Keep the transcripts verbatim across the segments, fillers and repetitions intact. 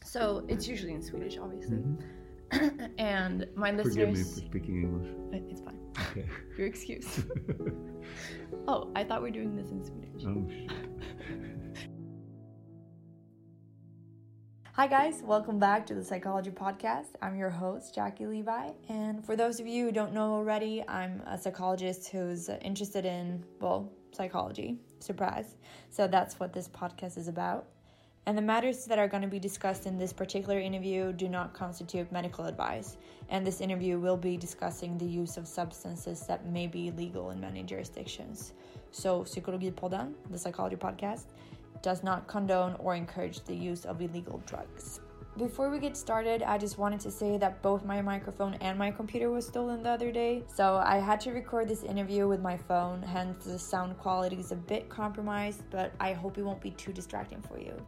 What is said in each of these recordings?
So it's usually in Swedish, obviously. Mm-hmm. And my listeners... Forgive me for speaking English. It's fine. Okay. You're excused. Oh, I thought we were doing this in Swedish. Oh, shit. Hi guys, welcome back to the Psychology Podcast. I'm your host, Jackie Levi. And for those of you who don't know already, I'm a psychologist who's interested in, well, psychology. Surprise. So that's what this podcast is about. And the matters that are going to be discussed in this particular interview do not constitute medical advice. And this interview will be discussing the use of substances that may be illegal in many jurisdictions. So Psykologipodden, the Psychology Podcast, does not condone or encourage the use of illegal drugs. Before we get started, I just wanted to say that both my microphone and my computer was stolen the other day, so I had to record this interview with my phone, hence the sound quality is a bit compromised, but I hope it won't be too distracting for you.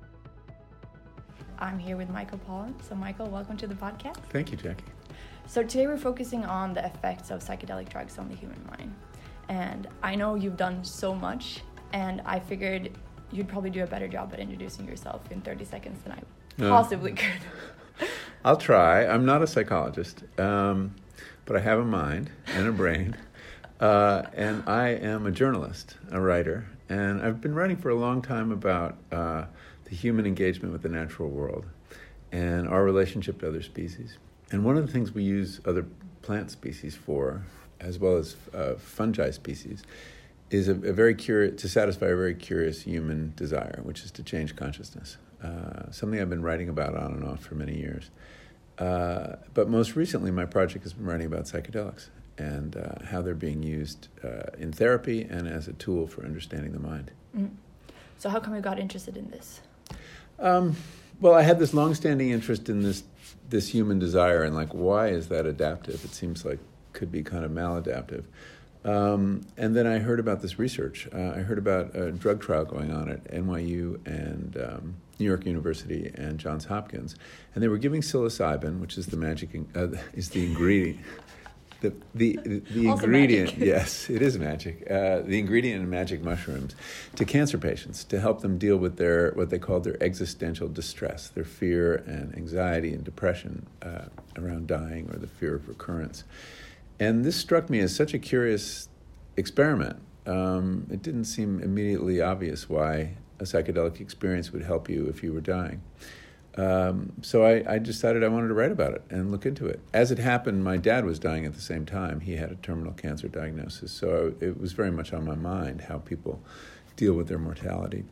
I'm here with Michael Pollan. So Michael, welcome to the podcast. Thank you, Jackie. So today we're focusing on the effects of psychedelic drugs on the human mind. And I know you've done so much, and I figured you'd probably do a better job at introducing yourself in thirty seconds than I possibly uh, could. I'll try. I'm not a psychologist, um, but I have a mind and a brain. Uh, and I am a journalist, a writer. And I've been writing for a long time about uh, the human engagement with the natural world and our relationship to other species. And one of the things we use other plant species for, as well as uh, fungi species, is a, a very curious, to satisfy a very curious human desire, which is to change consciousness. Uh, something I've been writing about on and off for many years. Uh, but most recently, my project has been writing about psychedelics and uh, how they're being used uh, in therapy and as a tool for understanding the mind. Mm. So how come you got interested in this? Um, well, I had this long-standing interest in this this human desire, and like, why is that adaptive? It seems like could be kind of maladaptive. Um, and then I heard about this research. Uh, I heard about a drug trial going on at N Y U and um, New York University and Johns Hopkins, and they were giving psilocybin, which is the magic in, uh, is the ingredient. The the the, the ingredient, magic. Yes, it is magic. Uh, the ingredient in magic mushrooms to cancer patients to help them deal with their what they call their existential distress, their fear and anxiety and depression uh, around dying or the fear of recurrence. And this struck me as such a curious experiment. Um, it didn't seem immediately obvious why a psychedelic experience would help you if you were dying. Um, so I, I decided I wanted to write about it and look into it. As it happened, my dad was dying at the same time. He had a terminal cancer diagnosis. So it was very much on my mind how people deal with their mortality.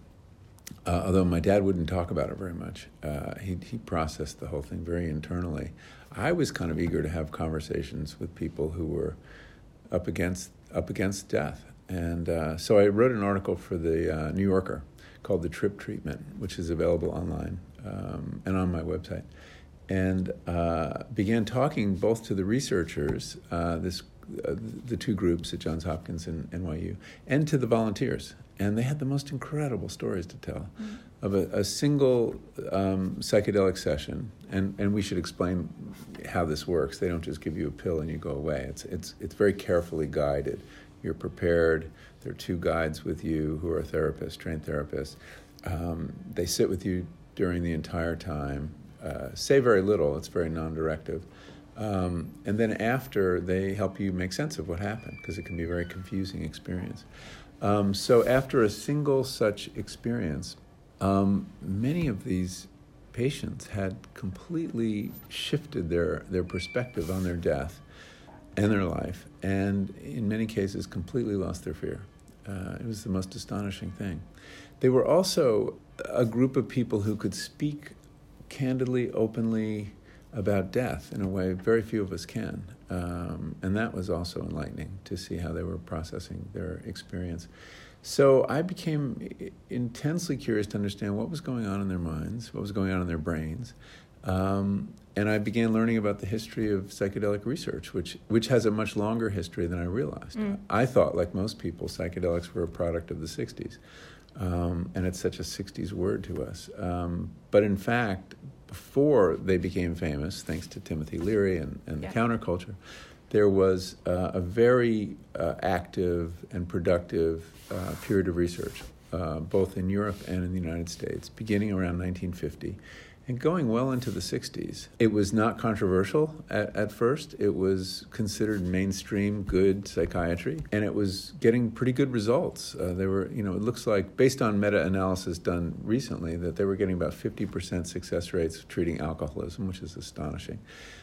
Uh, although my dad wouldn't talk about it very much. Uh, he, he processed the whole thing very internally. I was kind of eager to have conversations with people who were up against up against death. And uh, so I wrote an article for the uh, New Yorker called The Trip Treatment, which is available online um, and on my website, and uh, began talking both to the researchers, uh, this uh, the two groups at Johns Hopkins and N Y U, and to the volunteers. And they had the most incredible stories to tell mm-hmm. of a, a single um, psychedelic session. And, and we should explain how this works. They don't just give you a pill and you go away. It's it's it's very carefully guided. You're prepared. There are two guides with you who are therapists, trained therapists. Um, they sit with you during the entire time, uh, say very little. It's very non-directive. Um, and then after, they help you make sense of what happened, because it can be a very confusing experience. Um, so after a single such experience, um, many of these patients had completely shifted their, their perspective on their death and their life, and in many cases completely lost their fear. Uh, it was the most astonishing thing. They were also a group of people who could speak candidly, openly about death in a way very few of us can. Um, and that was also enlightening to see how they were processing their experience. So I became intensely curious to understand what was going on in their minds, what was going on in their brains. Um, and I began learning about the history of psychedelic research, which which has a much longer history than I realized. Mm. I thought, like most people, psychedelics were a product of the sixties. Um, and it's such a sixties word to us. Um, but in fact, before they became famous, thanks to Timothy Leary and, and yeah. the counterculture, there was uh, a very uh, active and productive uh, period of research, uh, both in Europe and in the United States, beginning around nineteen fifty and going well into the sixties. It was not controversial at, at first. It was considered mainstream good psychiatry, and it was getting pretty good results. Uh, they were, you know, it looks like, based on meta-analysis done recently, that they were getting about fifty percent success rates treating alcoholism, which is astonishing.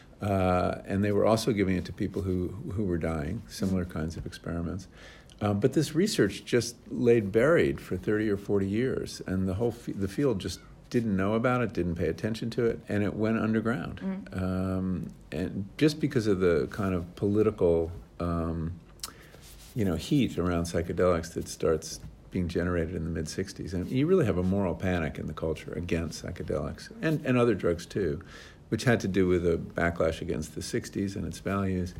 Uh, and they were also giving it to people who, who were dying, similar kinds of experiments. Um, but this research just laid buried for thirty or forty years, and the whole f- the field just didn't know about it, didn't pay attention to it, and it went underground. Mm. Um, and just because of the kind of political, um, you know, heat around psychedelics that starts being generated in the mid-sixties. And you really have a moral panic in the culture against psychedelics, and, and other drugs too, which had to do with a backlash against the sixties and its values.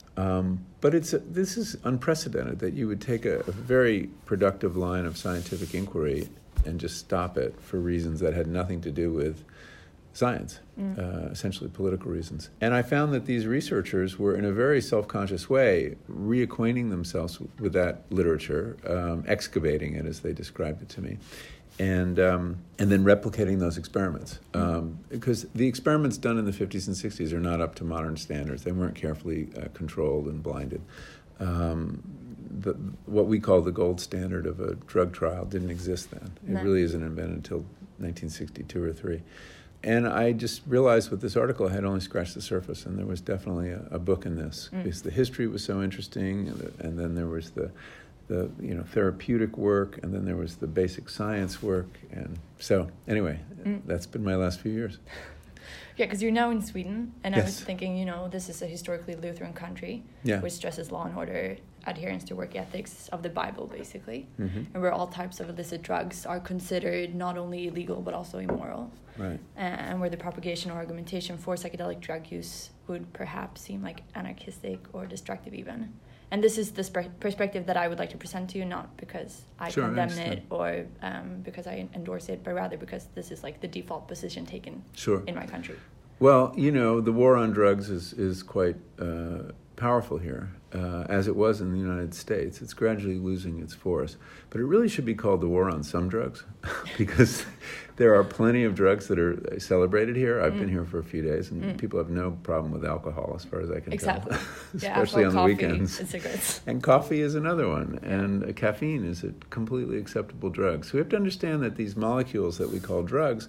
Um, but it's a, this is unprecedented, that you would take a, a very productive line of scientific inquiry and just stop it for reasons that had nothing to do with science, mm. uh, essentially political reasons. And I found that these researchers were, in a very self-conscious way, reacquainting themselves with that literature, um, excavating it as they described it to me, and um, and then replicating those experiments. Um, because the experiments done in the fifties and sixties are not up to modern standards. They weren't carefully uh, controlled and blinded. Um, the, what we call the gold standard of a drug trial didn't exist then. It no. really isn't invented until nineteen sixty-two or three. And I just realized with this article I had only scratched the surface, and there was definitely a, a book in this, mm. because the history was so interesting, and, the, and then there was the, the you know therapeutic work, and then there was the basic science work, and so anyway, mm. that's been my last few years. Yeah, because you're now in Sweden, and yes. I was thinking, you know, this is a historically Lutheran country, yeah. which stresses law and order, adherence to work ethics of the Bible, basically, mm-hmm. and where all types of illicit drugs are considered not only illegal but also immoral. Right. And where the propagation or argumentation for psychedelic drug use would perhaps seem like anarchistic or destructive even. And this is the sp- perspective that I would like to present to you, not because I sure, condemn I it or um, because I endorse it, but rather because this is like the default position taken sure. in my country. Well, you know, the war on drugs is, is quite uh, powerful here, uh, as it was in the United States. It's gradually losing its force. But it really should be called the war on some drugs, because there are plenty of drugs that are celebrated here. I've mm. been here for a few days, and mm. people have no problem with alcohol, as far as I can exactly. tell. Yeah, especially on coffee the weekends. And cigarettes. And coffee is another one, and uh, caffeine is a completely acceptable drug. So we have to understand that these molecules that we call drugs,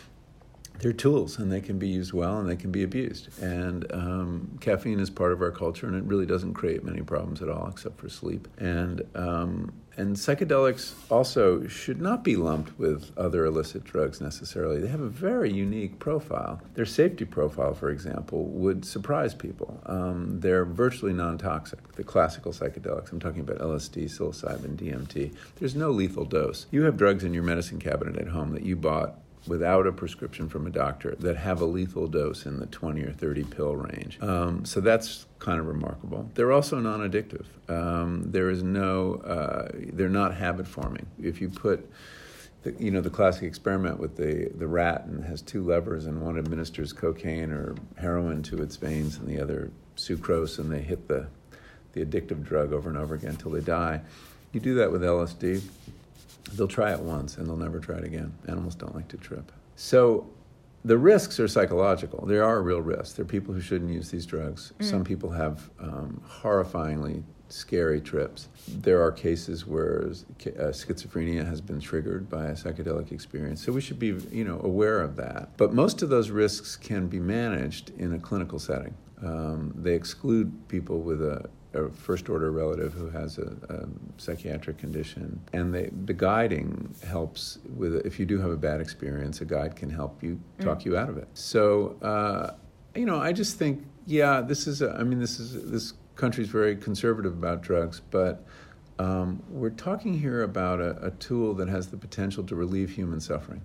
they're tools, and they can be used well, and they can be abused. And um, caffeine is part of our culture, and it really doesn't create many problems at all, except for sleep. And um, and psychedelics also should not be lumped with other illicit drugs necessarily. They have a very unique profile. Their safety profile, for example, would surprise people. Um, they're virtually non-toxic, the classical psychedelics. I'm talking about L S D, psilocybin, D M T. There's no lethal dose. You have drugs in your medicine cabinet at home that you bought without a prescription from a doctor that have a lethal dose in the twenty or thirty pill range. Um, so that's kind of remarkable. They're also non-addictive. Um, there is no, uh, they're not habit forming. If you put, the, you know, the classic experiment with the, the rat, and has two levers, and one administers cocaine or heroin to its veins and the other sucrose, and they hit the, the addictive drug over and over again until they die. You do that with L S D, they'll try it once and they'll never try it again. Animals don't like to trip. So the risks are psychological. There are real risks. There are people who shouldn't use these drugs. Mm. Some people have um, horrifyingly scary trips. There are cases where uh, schizophrenia has been triggered by a psychedelic experience. So we should be, you know, aware of that. But most of those risks can be managed in a clinical setting. Um, they exclude people with a a first-order relative who has a, a psychiatric condition. And they, the guiding helps with, if you do have a bad experience, a guide can help you, talk mm. you out of it. So, uh, you know, I just think, yeah, this is, a, I mean, this is, this country's very conservative about drugs, but um, we're talking here about a, a tool that has the potential to relieve human suffering.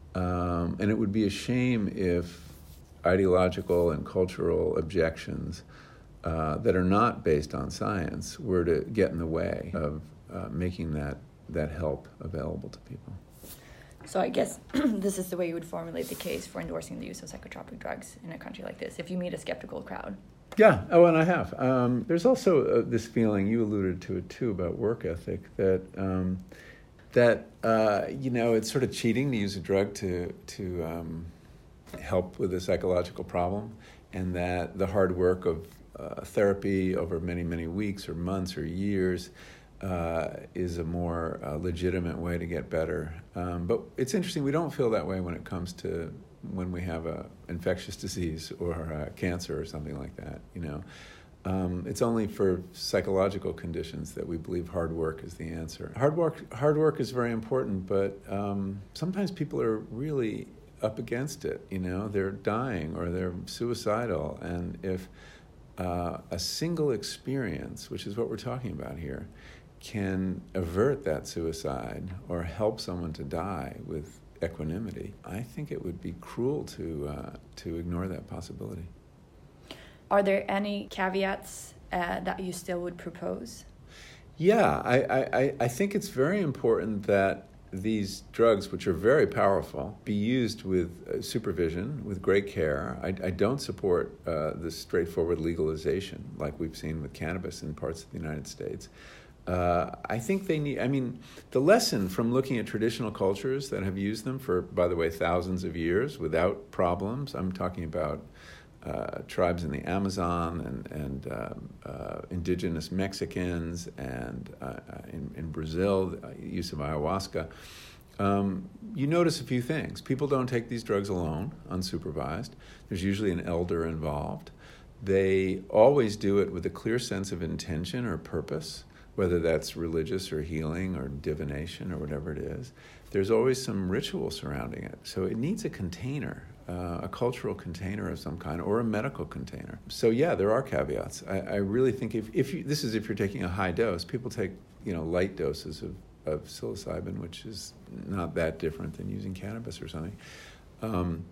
Um, and it would be a shame if ideological and cultural objections Uh, that are not based on science were to get in the way of uh, making that, that help available to people. So I guess this is the way you would formulate the case for endorsing the use of psychotropic drugs in a country like this, if you meet a skeptical crowd. Yeah, oh, and I have. Um, there's also uh, this feeling, you alluded to it too, about work ethic, that, um, that uh, you know, it's sort of cheating to use a drug to, to um, help with a psychological problem, and that the hard work of uh, therapy over many, many weeks or months or years uh, is a more uh, legitimate way to get better. Um, but it's interesting, we don't feel that way when it comes to when we have a infectious disease or uh, cancer or something like that, you know. Um, it's only for psychological conditions that we believe hard work is the answer. Hard work, hard work is very important, but um, sometimes people are really up against it, you know. They're dying or they're suicidal, and if uh, a single experience, which is what we're talking about here, can avert that suicide or help someone to die with equanimity, I think it would be cruel to uh, to ignore that possibility. Are there any caveats uh, that you still would propose? Yeah, I, I, I think it's very important that these drugs, which are very powerful, be used with uh, supervision, with great care. I, I don't support uh, the straightforward legalization like we've seen with cannabis in parts of the United States. Uh, I think they need, I mean, the lesson from looking at traditional cultures that have used them for, by the way, thousands of years without problems, I'm talking about uh, tribes in the Amazon and, and um, uh, indigenous Mexicans and uh, in, in Brazil, the use of ayahuasca. Um, you notice a few things. People don't take these drugs alone, unsupervised. There's usually an elder involved. They always do it with a clear sense of intention or purpose, whether that's religious or healing or divination or whatever it is. There's always some ritual surrounding it. So it needs a container, uh, a cultural container of some kind, or a medical container. So yeah, there are caveats. I, I really think if, if you, this is if you're taking a high dose. People take, you know, light doses of, of psilocybin, which is not that different than using cannabis or something. Um,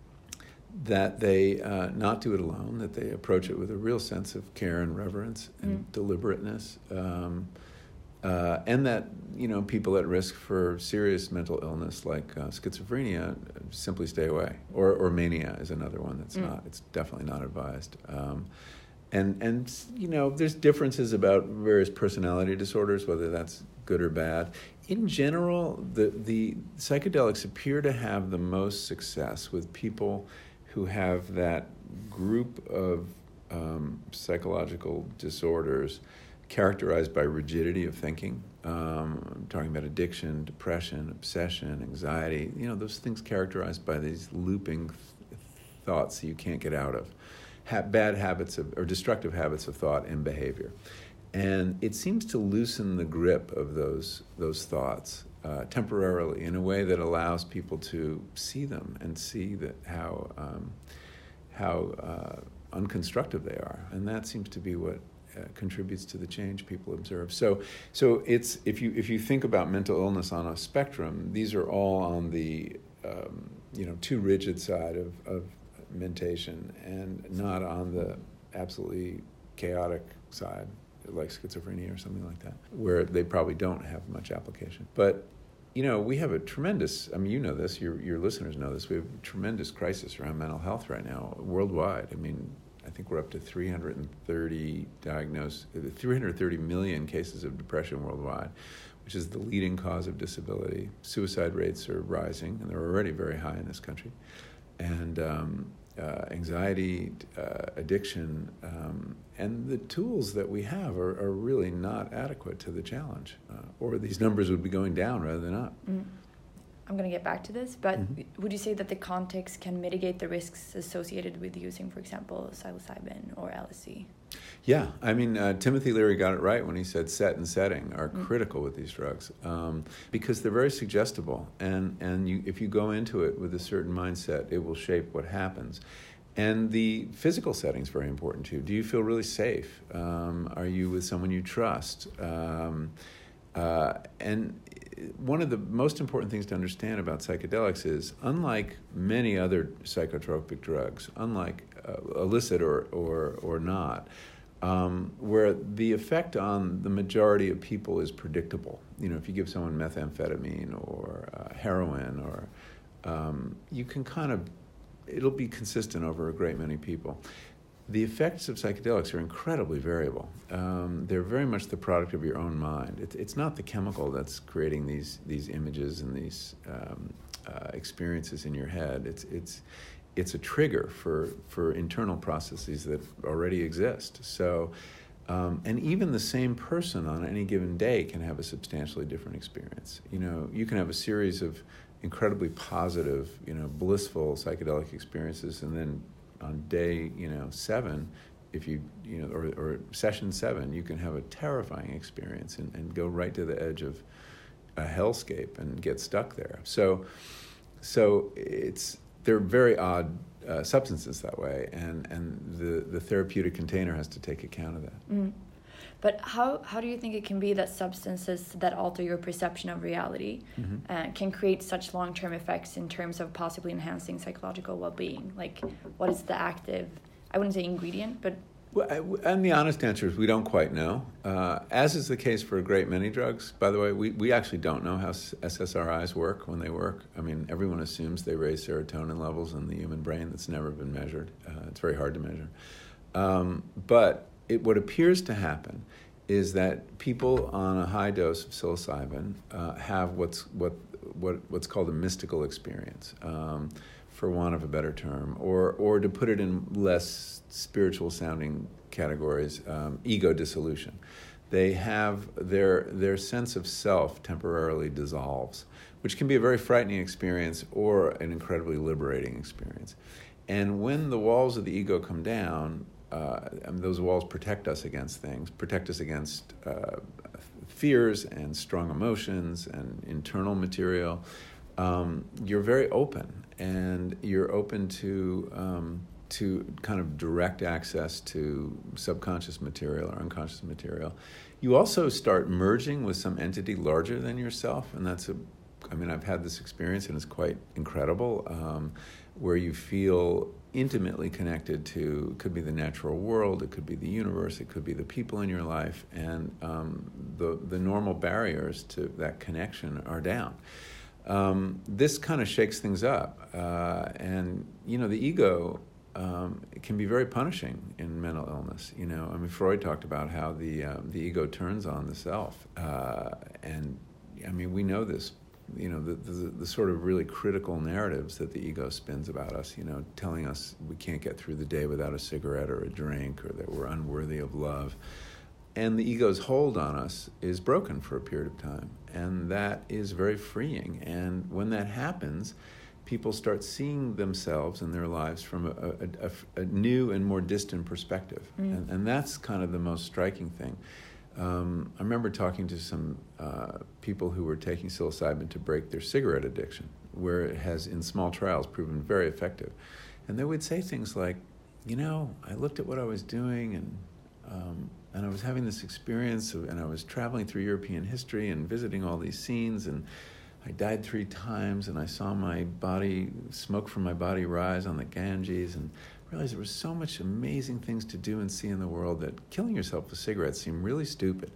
that they uh, not do it alone, that they approach it with a real sense of care and reverence and mm. deliberateness, um, uh, and that, you know, people at risk for serious mental illness like uh, schizophrenia simply stay away, or, or mania is another one that's mm. not, it's definitely not advised. Um, and, and, you know, there's differences about various personality disorders, whether that's good or bad. In general, the, the psychedelics appear to have the most success with people who have that group of um, psychological disorders characterized by rigidity of thinking. Um, I'm talking about addiction, depression, obsession, anxiety, you know, those things characterized by these looping th- thoughts that you can't get out of, ha- bad habits of, or destructive habits of thought and behavior. And it seems to loosen the grip of those those thoughts uh, temporarily in a way that allows people to see them and see that how um, how uh, unconstructive they are, and that seems to be what uh, contributes to the change people observe. So, so it's if you if you think about mental illness on a spectrum, these are all on the um, you know too rigid side of, of mentation, and not on the absolutely chaotic side, like schizophrenia or something like that, where they probably don't have much application. But, you know, we have a tremendous, I mean, you know this, your your listeners know this, we have a tremendous crisis around mental health right now, worldwide. I mean, I think we're up to three hundred thirty diagnosed, three hundred thirty million cases of depression worldwide, which is the leading cause of disability. Suicide rates are rising, and they're already very high in this country. And um, Uh, anxiety, uh, addiction, um, and the tools that we have are, are really not adequate to the challenge, uh, or these numbers would be going down rather than up. Mm. I'm going to get back to this, but mm-hmm. would you say that the context can mitigate the risks associated with using, for example, psilocybin or L S D? Yeah, I mean, uh, Timothy Leary got it right when he said set and setting are mm. critical with these drugs, um, because they're very suggestible, and, and you, if you go into it with a certain mindset, it will shape what happens. And the physical setting is very important too. Do you feel really safe? Um, are you with someone you trust? Um, uh, and one of the most important things to understand about psychedelics is, unlike many other psychotropic drugs, unlike uh, illicit or, or, or not, um, where the effect on the majority of people is predictable. You know, if you give someone methamphetamine or uh, heroin, or um, you can kind of, it'll be consistent over a great many people. The effects of psychedelics are incredibly variable. Um, they're very much the product of your own mind. It, it's not the chemical that's creating these these images and these um, uh, experiences in your head. It's it's it's a trigger for, for internal processes that already exist. So, um, and even the same person on any given day can have a substantially different experience. You know, you can have a series of incredibly positive, you know, blissful psychedelic experiences, and then on day, you know, seven, if you, you know, or, or session seven, you can have a terrifying experience and, and go right to the edge of a hellscape and get stuck there. So, so it's, they're very odd uh, substances that way, and, and the, the therapeutic container has to take account of that. Mm. But how, how do you think it can be that substances that alter your perception of reality mm-hmm. uh, can create such long-term effects in terms of possibly enhancing psychological well-being? Like, what is the active, I wouldn't say ingredient, but... Well, and the honest answer is we don't quite know. Uh, as is the case for a great many drugs. By the way, we, we actually don't know how S S R Is work when they work. I mean, everyone assumes they raise serotonin levels in the human brain. That's never been measured. Uh, it's very hard to measure. Um, but it, what appears to happen is that people on a high dose of psilocybin uh, have what's what what what's called a mystical experience, um, for want of a better term, or or to put it in less spiritual sounding categories, um, ego dissolution. They have their their sense of self temporarily dissolves, which can be a very frightening experience or an incredibly liberating experience. And when the walls of the ego come down, uh, I mean, those walls protect us against things, protect us against uh, fears and strong emotions and internal material. Um, you're very open, and you're open to um, to kind of direct access to subconscious material or unconscious material. You also start merging with some entity larger than yourself, and that's a, I mean, I've had this experience, and it's quite incredible, um, where you feel intimately connected to, it could be the natural world, it could be the universe, it could be the people in your life, and um, the, the normal barriers to that connection are down. Um, this kind of shakes things up, uh, and, you know, the ego um, it can be very punishing in mental illness. You know, I mean, Freud talked about how the um, the ego turns on the self, uh, and I mean, we know this. You know, the, the the sort of really critical narratives that the ego spins about us. You know, telling us we can't get through the day without a cigarette or a drink, or that we're unworthy of love. And the ego's hold on us is broken for a period of time, and that is very freeing. And when that happens, people start seeing themselves and their lives from a, a, a, a new and more distant perspective. Mm. And, and that's kind of the most striking thing. Um, I remember talking to some uh, people who were taking psilocybin to break their cigarette addiction, where it has, in small trials, proven very effective. And they would say things like, you know, I looked at what I was doing, and um, and I was having this experience, of, and I was traveling through European history and visiting all these scenes, and I died three times, and I saw my body, smoke from my body rise on the Ganges, and realized there was so much amazing things to do and see in the world that killing yourself with cigarettes seemed really stupid.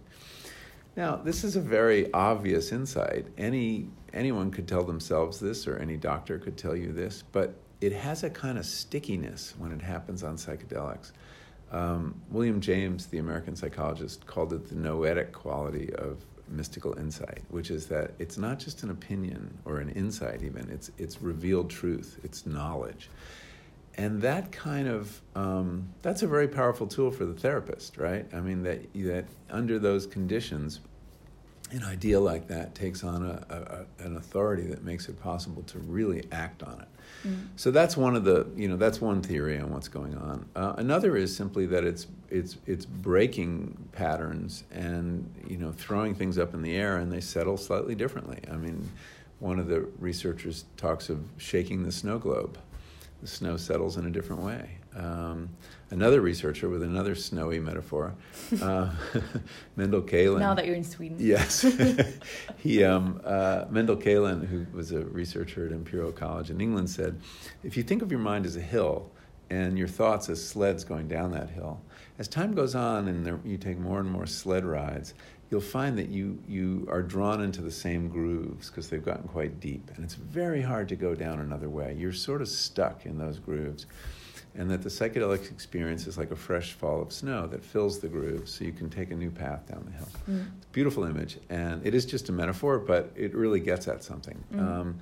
Now, this is a very obvious insight. Any anyone could tell themselves this, or any doctor could tell you this, but it has a kind of stickiness when it happens on psychedelics. Um, William James, the American psychologist, called it the noetic quality of mystical insight, which is that it's not just an opinion or an insight even, it's it's revealed truth, it's knowledge. And that kind of, um, that's a very powerful tool for the therapist, right? I mean, that that under those conditions, an idea like that takes on a, a, an authority that makes it possible to really act on it. Mm. So that's one of the, you know, that's one theory on what's going on. Uh, another is simply that it's it's it's breaking patterns and, you know, throwing things up in the air, and they settle slightly differently. I mean, one of the researchers talks of shaking the snow globe. The snow settles in a different way. Um, another researcher with another snowy metaphor, uh, Mendel Kaelin. Now that you're in Sweden. Yes. he, um, uh, Mendel Kaelin, who was a researcher at Imperial College in England, said, if you think of your mind as a hill and your thoughts as sleds going down that hill, as time goes on and there, you take more and more sled rides, you'll find that you, you are drawn into the same grooves because they've gotten quite deep. And it's very hard to go down another way. You're sort of stuck in those grooves. And that the psychedelic experience is like a fresh fall of snow that fills the grooves so you can take a new path down the hill. Mm. It's a beautiful image. And it is just a metaphor, but it really gets at something. Mm. Um,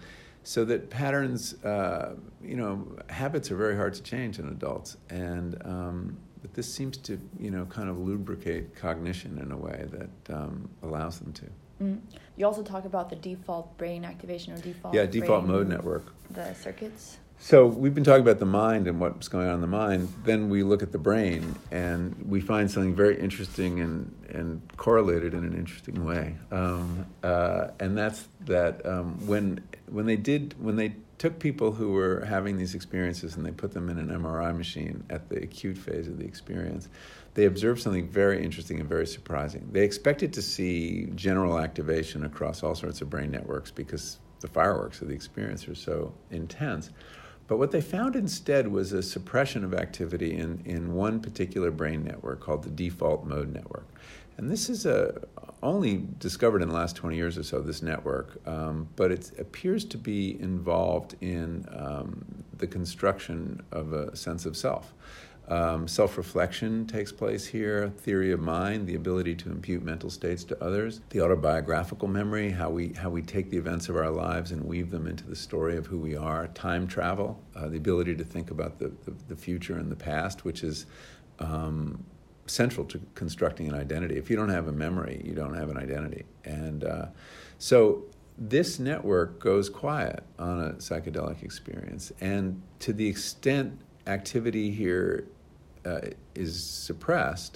so that patterns, uh, you know, habits are very hard to change in adults, and um, but this seems to, you know, kind of lubricate cognition in a way that um, allows them to. Mm. You also talk about the default brain activation or default yeah default brain, mode network, the circuits. So we've been talking about the mind and what's going on in the mind. Then we look at the brain, and we find something very interesting and, and correlated in an interesting way. Um, uh, and that's that um, when when they did when they took people who were having these experiences and they put them in an M R I machine at the acute phase of the experience, they observed something very interesting and very surprising. They expected to see general activation across all sorts of brain networks because the fireworks of the experience are so intense. But what they found instead was a suppression of activity in, in one particular brain network called the default mode network. And this is a, only discovered in the last twenty years or so, this network, um, but it appears to be involved in um, the construction of a sense of self. Um, self-reflection takes place here, theory of mind, the ability to impute mental states to others, the autobiographical memory, how we how we take the events of our lives and weave them into the story of who we are, time travel, uh, the ability to think about the, the, the future and the past, which is um, central to constructing an identity. If you don't have a memory, you don't have an identity. And uh, so this network goes quiet on a psychedelic experience. And to the extent activity here uh, is suppressed,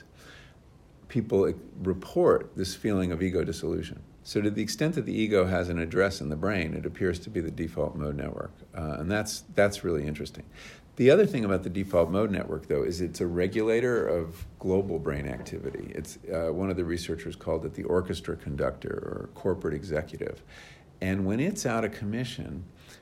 people report this feeling of ego dissolution. So to the extent that the ego has an address in the brain, it appears to be the default mode network. Uh, and that's that's really interesting. The other thing about the default mode network, though, is it's a regulator of global brain activity. It's uh, one of the researchers called it the orchestra conductor or corporate executive. And when it's out of commission,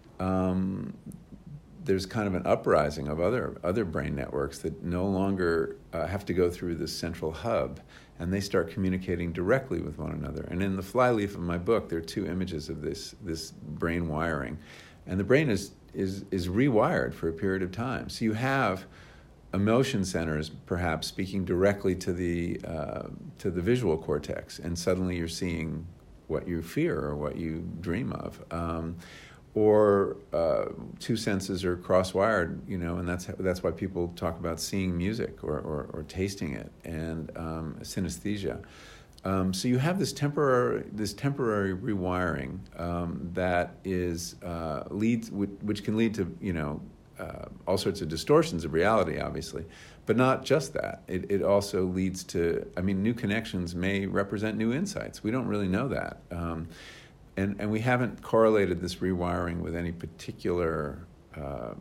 um, there's kind of an uprising of other other brain networks that no longer uh, have to go through this central hub, and they start communicating directly with one another. And in the flyleaf of my book, there are two images of this this brain wiring, and the brain is is is rewired for a period of time. So you have emotion centers perhaps speaking directly to the uh, to the visual cortex, and suddenly you're seeing what you fear or what you dream of. Um, Or uh, two senses are cross-wired, you know, and that's that's why people talk about seeing music or, or, or tasting it, and um, synesthesia. Um, so you have this temporary this temporary rewiring um, that is uh, leads which, which can lead to, you know, uh, all sorts of distortions of reality, obviously, but not just that. It it also leads to, I mean, new connections may represent new insights. We don't really know that. Um, And and we haven't correlated this rewiring with any particular um,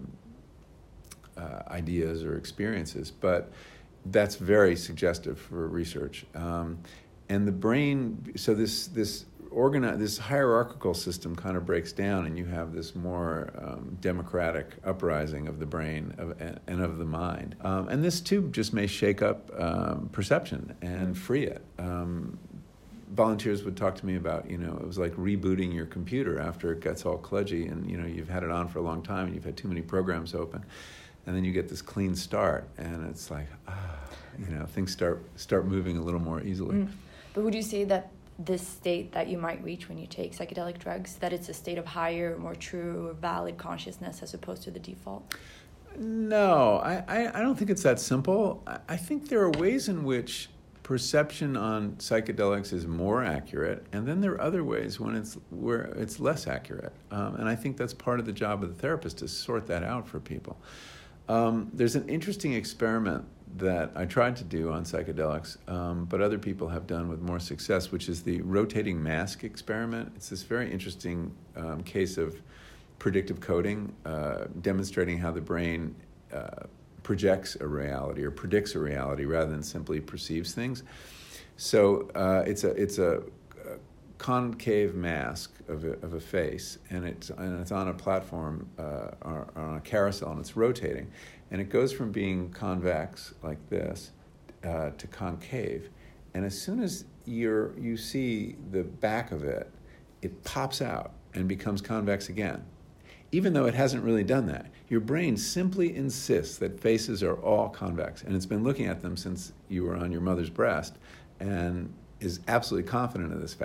uh, ideas or experiences, but that's very suggestive for research. Um, and the brain, so this this organi- this hierarchical system kind of breaks down, and you have this more um, democratic uprising of the brain of, and of the mind. Um, and this too just may shake up um, perception and free it. Um, Volunteers would talk to me about, you know, it was like rebooting your computer after it gets all kludgy and, you know, you've had it on for a long time and you've had too many programs open. And then you get this clean start and it's like, ah, you know, things start start moving a little more easily. Mm. But would you say that this state that you might reach when you take psychedelic drugs, that it's a state of higher, more true, or valid consciousness as opposed to the default? No, I, I, I don't think it's that simple. I, I think there are ways in which perception on psychedelics is more accurate, and then there are other ways when it's where it's less accurate. Um, and I think that's part of the job of the therapist, to sort that out for people. Um, there's an interesting experiment that I tried to do on psychedelics, um, but other people have done with more success, which is the rotating mask experiment. It's this very interesting um, case of predictive coding, uh, demonstrating how the brain uh, projects a reality or predicts a reality rather than simply perceives things. So uh, it's a it's a, a concave mask of a, of a face, and it's and it's on a platform uh, or, or on a carousel, and it's rotating, and it goes from being convex like this uh, to concave, and as soon as you're you see the back of it, it pops out and becomes convex again. Even though it hasn't really done that, your brain simply insists that faces are all convex, and it's been looking at them since you were on your mother's breast and is absolutely confident of this fact,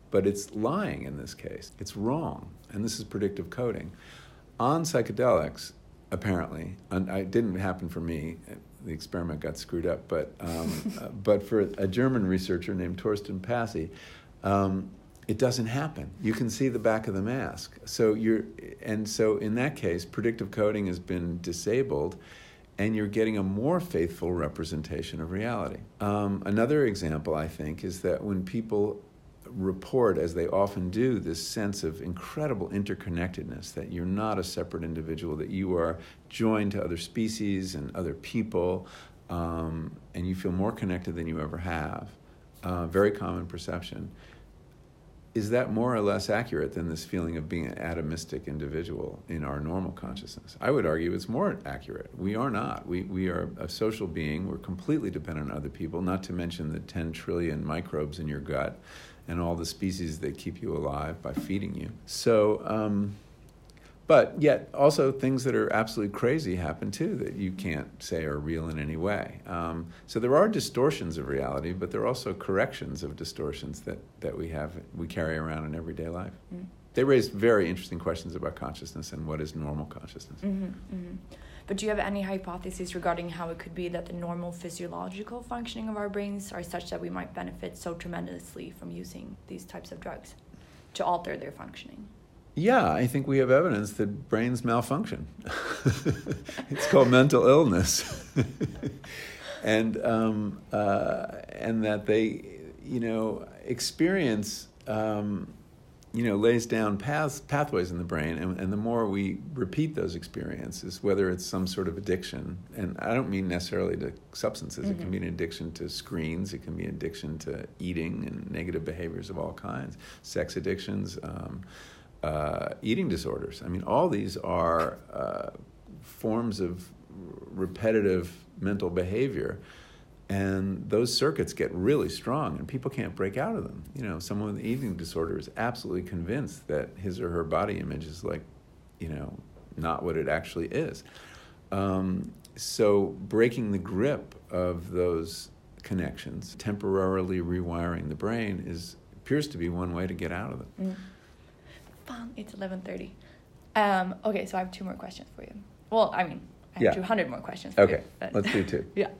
but it's lying in this case. It's wrong, and this is predictive coding. On psychedelics, apparently, and it didn't happen for me, the experiment got screwed up, but um, uh, but for a German researcher named Torsten Passy, um, it doesn't happen. You can see the back of the mask. So you're, and so in that case, predictive coding has been disabled, and you're getting a more faithful representation of reality. Um, another example, I think, is that when people report, as they often do, this sense of incredible interconnectedness, that you're not a separate individual, that you are joined to other species and other people, um, and you feel more connected than you ever have. Uh, very common perception. Is that more or less accurate than this feeling of being an atomistic individual in our normal consciousness? I would argue it's more accurate. We are not. We we are a social being. We're completely dependent on other people, not to mention the ten trillion microbes in your gut and all the species that keep you alive by feeding you. So, um, but yet also things that are absolutely crazy happen too that you can't say are real in any way. Um, so there are distortions of reality, but there are also corrections of distortions that, that we have, we carry around in everyday life. Mm. They raise very interesting questions about consciousness and what is normal consciousness. Mm-hmm, mm-hmm. But do you have any hypotheses regarding how it could be that the normal physiological functioning of our brains are such that we might benefit so tremendously from using these types of drugs to alter their functioning? Yeah, I think we have evidence that brains malfunction. It's called mental illness. and um, uh, and that they, you know, experience, um, you know, lays down paths, pathways in the brain, and, and the more we repeat those experiences, whether it's some sort of addiction, and I don't mean necessarily to substances, mm-hmm. It can be an addiction to screens, it can be an addiction to eating and negative behaviors of all kinds, sex addictions, um, uh, eating disorders. I mean, all these are uh, forms of repetitive mental behavior. And those circuits get really strong, and people can't break out of them. You know, someone with an eating disorder is absolutely convinced that his or her body image is like, you know, not what it actually is. Um, so breaking the grip of those connections, temporarily rewiring the brain, is appears to be one way to get out of them. Mm. Fun. It's eleven thirty. Um, okay, so I have two more questions for you. Well, I mean, I have yeah. two hundred more questions for okay. you. Okay, let's do two. Yeah.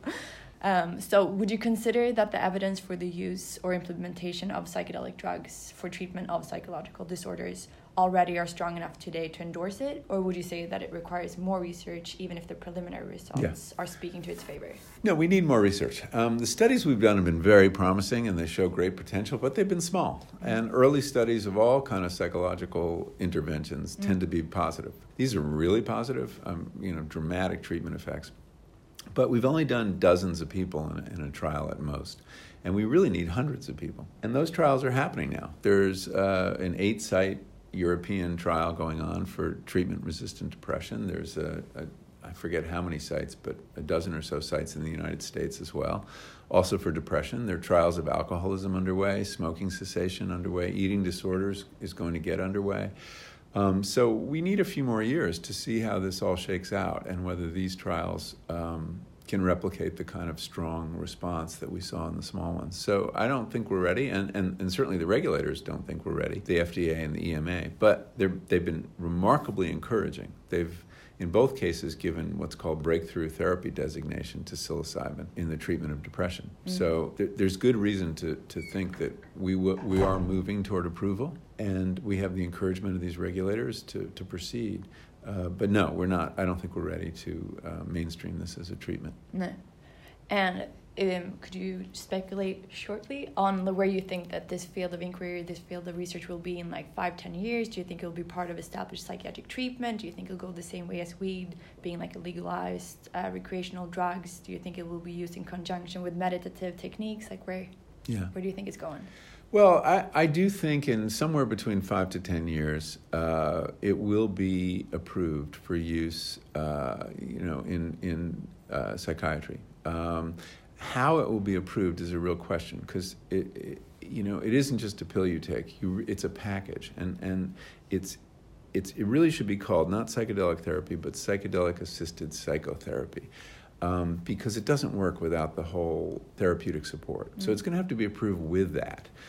Um, so would you consider that the evidence for the use or implementation of psychedelic drugs for treatment of psychological disorders already are strong enough today to endorse it? Or would you say that it requires more research, even if the preliminary results yeah. are speaking to its favor? No, we need more research. Um, the studies we've done have been very promising, and they show great potential, but they've been small. Mm-hmm. And early studies of all kind of psychological interventions mm-hmm. tend to be positive. These are really positive, um, you know, dramatic treatment effects. But we've only done dozens of people in a, in a trial at most, and we really need hundreds of people. And those trials are happening now. There's uh, an eight-site European trial going on for treatment-resistant depression. There's a, a, I forget how many sites, but a dozen or so sites in the United States as well. Also for depression, there are trials of alcoholism underway, smoking cessation underway, eating disorders is going to get underway. Um, so we need a few more years to see how this all shakes out and whether these trials um, can replicate the kind of strong response that we saw in the small ones. So I don't think we're ready, and, and, and certainly the regulators don't think we're ready, the F D A and the E M A, but they've been remarkably encouraging. They've, in both cases, given what's called breakthrough therapy designation to psilocybin in the treatment of depression. Mm-hmm. So th- there's good reason to, to think that we w- we are moving toward approval, and we have the encouragement of these regulators to, to proceed. Uh, but no, we're not. I don't think we're ready to uh, mainstream this as a treatment. No. And um, could you speculate shortly on the, where you think that this field of inquiry, this field of research will be in like five, ten years? Do you think it will be part of established psychiatric treatment? Do you think it will go the same way as weed, being like a legalized uh, recreational drugs? Do you think it will be used in conjunction with meditative techniques? Like where, yeah. where do you think it's going? Well, I, I do think in somewhere between five to ten years, uh, it will be approved for use, uh, you know, in in uh, psychiatry. Um, how it will be approved is a real question because it, it, you know, it isn't just a pill you take. You, it's a package, and and it's it's it really should be called not psychedelic therapy, but psychedelic-assisted psychotherapy. Um, because it doesn't work without the whole therapeutic support. Mm-hmm. So it's going to have to be approved with that.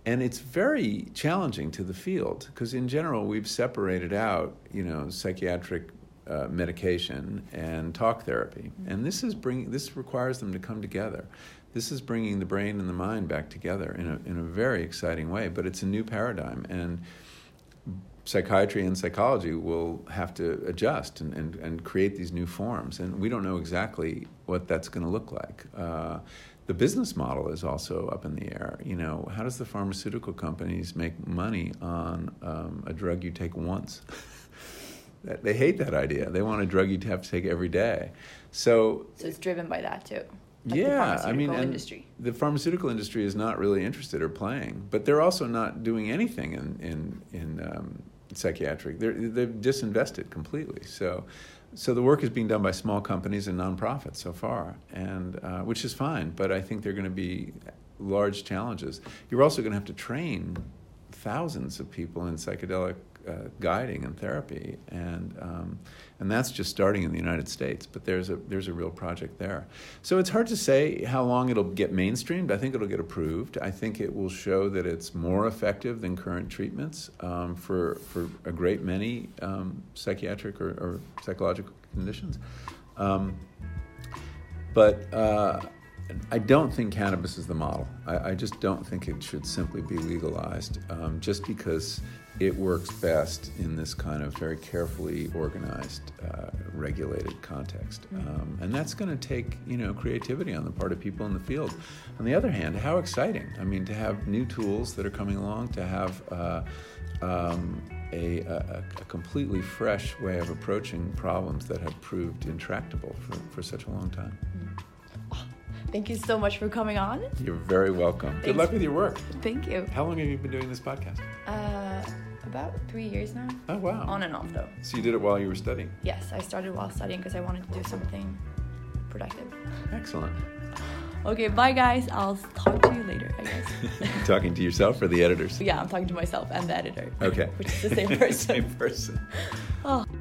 and it's very challenging to the field because in general we've separated out, you know, psychiatric uh, medication and talk therapy, mm-hmm. and this is bringing this requires them to come together. This is bringing the brain and the mind back together in a in a very exciting way. But it's a new paradigm, and psychiatry and psychology will have to adjust and, and, and create these new forms. And we don't know exactly what that's going to look like. Uh, the business model is also up in the air. You know, how does the pharmaceutical companies make money on um, a drug you take once? They hate that idea. They want a drug you have to take every day. So, so it's driven by that too. Like yeah, I mean, and industry. The pharmaceutical industry is not really interested or playing, but they're also not doing anything in in in um, psychiatric. They're they've disinvested completely. So, so the work is being done by small companies and nonprofits so far, and uh, which is fine. But I think there are going to be large challenges. You're also going to have to train thousands of people in psychedelic uh, guiding and therapy, and um, and that's just starting in the United States. But there's a there's a real project there. So it's hard to say how long it'll get mainstreamed. I think it'll get approved. I think it will show that it's more effective than current treatments um, for for a great many um, psychiatric or, or psychological conditions. Um, but uh, I don't think cannabis is the model. I, I just don't think it should simply be legalized, um, just because it works best in this kind of very carefully organized, uh, regulated context. Um, and that's going to take, you know, creativity on the part of people in the field. On the other hand, how exciting. I mean, to have new tools that are coming along, to have uh, um, a, a, a completely fresh way of approaching problems that have proved intractable for, for such a long time. Thank you so much for coming on. You're very welcome. Thanks. Good luck with your work. Thank you. How long have you been doing this podcast? Uh, about three years now. Oh, wow. On and off, though. So you did it while you were studying? Yes, I started while studying because I wanted to do something productive. Excellent. Okay, bye, guys. I'll talk to you later, I guess. Talking to yourself or the editors? Yeah, I'm talking to myself and the editor. Okay. Which is the same person. Same person. Oh.